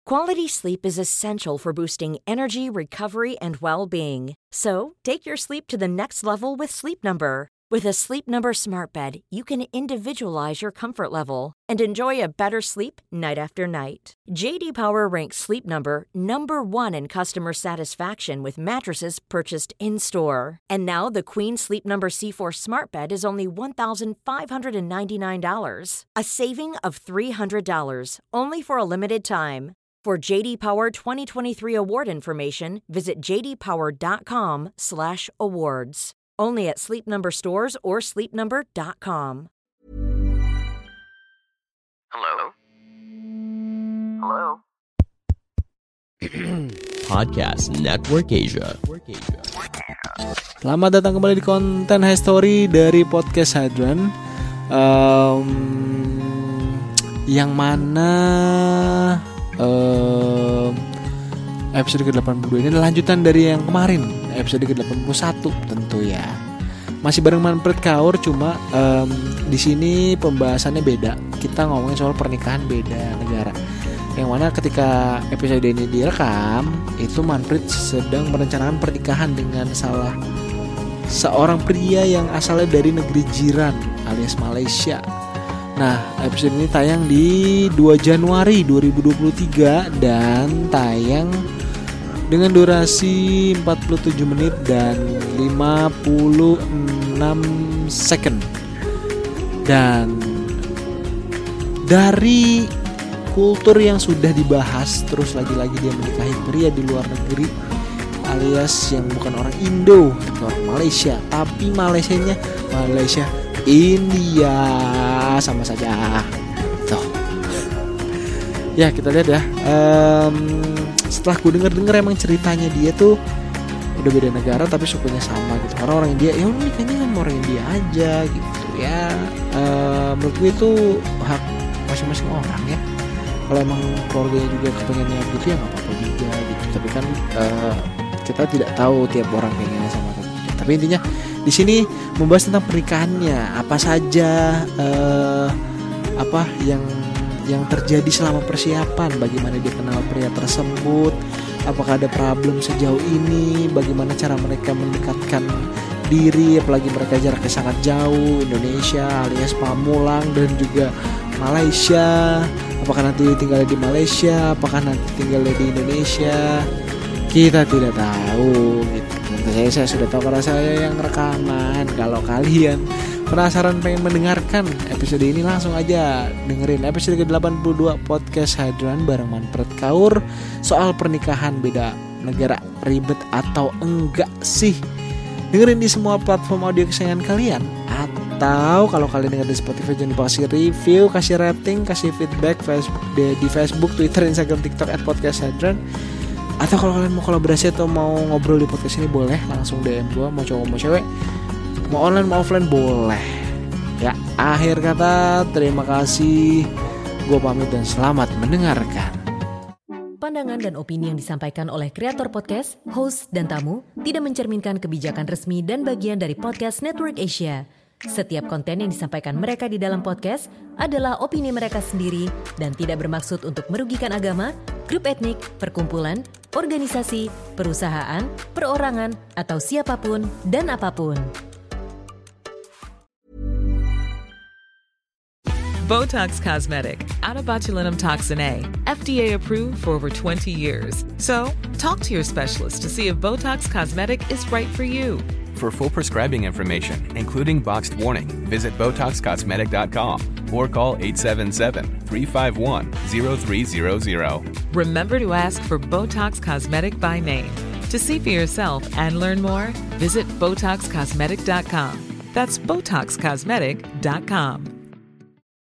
Quality sleep is essential for boosting energy, recovery, and well-being. So, take your sleep to the next level with Sleep Number. With a Sleep Number smart bed, you can individualize your comfort level and enjoy a better sleep night after night. J.D. Power ranks Sleep Number number 1 in customer satisfaction with mattresses purchased in-store. And now the Queen Sleep Number C4 smart bed is only $1,599, a saving of $300, only for a limited time. For J.D. Power 2023 award information, visit jdpower.com/awards. Only at Sleep Number stores or sleepnumber.com. Hello? Hello? Podcast Network Asia. Selamat datang kembali di konten History dari Podcast Hadran. Yang mana episode ke-82 ini adalah lanjutan dari yang kemarin, episode ke-81 tentu ya. Masih bareng Manfred Kaur, cuma di sini pembahasannya beda. Kita ngomongin soal pernikahan beda negara. Yang mana ketika episode ini direkam, itu Manfred sedang merencanakan pernikahan dengan seorang pria yang asalnya dari negeri jiran alias Malaysia. Nah, episode ini tayang di 2 Januari 2023 dan tayang dengan durasi 47 menit dan 56 second. Dan dari kultur yang sudah dibahas, terus lagi-lagi dia menikahi pria di luar negeri alias yang bukan orang Indo, orang Malaysia, tapi Malaysia India sama saja. Tuh. Ya, kita lihat ya. Setelah gue denger emang ceritanya dia tuh udah beda negara tapi sukunya sama gitu. Karena orang India, ya udah nikahnya sama orang India aja gitu ya. Menurut gue itu hak masing-masing orang ya. Kalau emang keluarganya juga kepengennya gitu ya nggak apa-apa juga gitu. Tapi kan kita tidak tahu tiap orang pengennya sama apa. Tapi intinya di sini membahas tentang pernikahannya, apa saja apa yang terjadi selama persiapan, bagaimana dia kenal pria tersebut, apakah ada problem sejauh ini, bagaimana cara mereka mendekatkan diri, apalagi mereka jaraknya sangat jauh, Indonesia alias Pamulang dan juga Malaysia, apakah nanti tinggalnya di Malaysia, apakah nanti tinggalnya di Indonesia, kita tidak tahu gitu. Saya sudah tahu karena saya yang rekaman. Kalau kalian penasaran pengen mendengarkan episode ini, langsung aja dengerin episode ke-82 Podcast Hadran bareng Manfred Kaur. Soal pernikahan beda negara, ribet atau enggak sih? Dengerin di semua platform audio kesayangan kalian. Atau kalau kalian denger di Spotify, jangan lupa kasih review, kasih rating, kasih feedback di Facebook, Twitter, Instagram, TikTok @podcasthadran. Atau kalau kalian mau kolaborasi atau mau ngobrol di podcast ini, boleh langsung DM gue. Mau cowok mau cewek, mau online mau offline boleh. Ya, akhir kata terima kasih. Gue pamit dan selamat mendengarkan. Pandangan dan opini yang disampaikan oleh kreator podcast, host, dan tamu tidak mencerminkan kebijakan resmi dan bagian dari Podcast Network Asia. Setiap konten yang disampaikan mereka di dalam podcast adalah opini mereka sendiri dan tidak bermaksud untuk merugikan agama, grup etnik, perkumpulan, organisasi, perusahaan, perorangan, atau siapapun dan apapun. Botox Cosmetic, out of botulinum toxin A, FDA approved for over 20 years. So, talk to your specialist to see if Botox Cosmetic is right for you. For full prescribing information, including boxed warning, visit BotoxCosmetic.com or call 877-351-0300. Remember to ask for Botox Cosmetic by name. To see for yourself and learn more, visit BotoxCosmetic.com. That's BotoxCosmetic.com.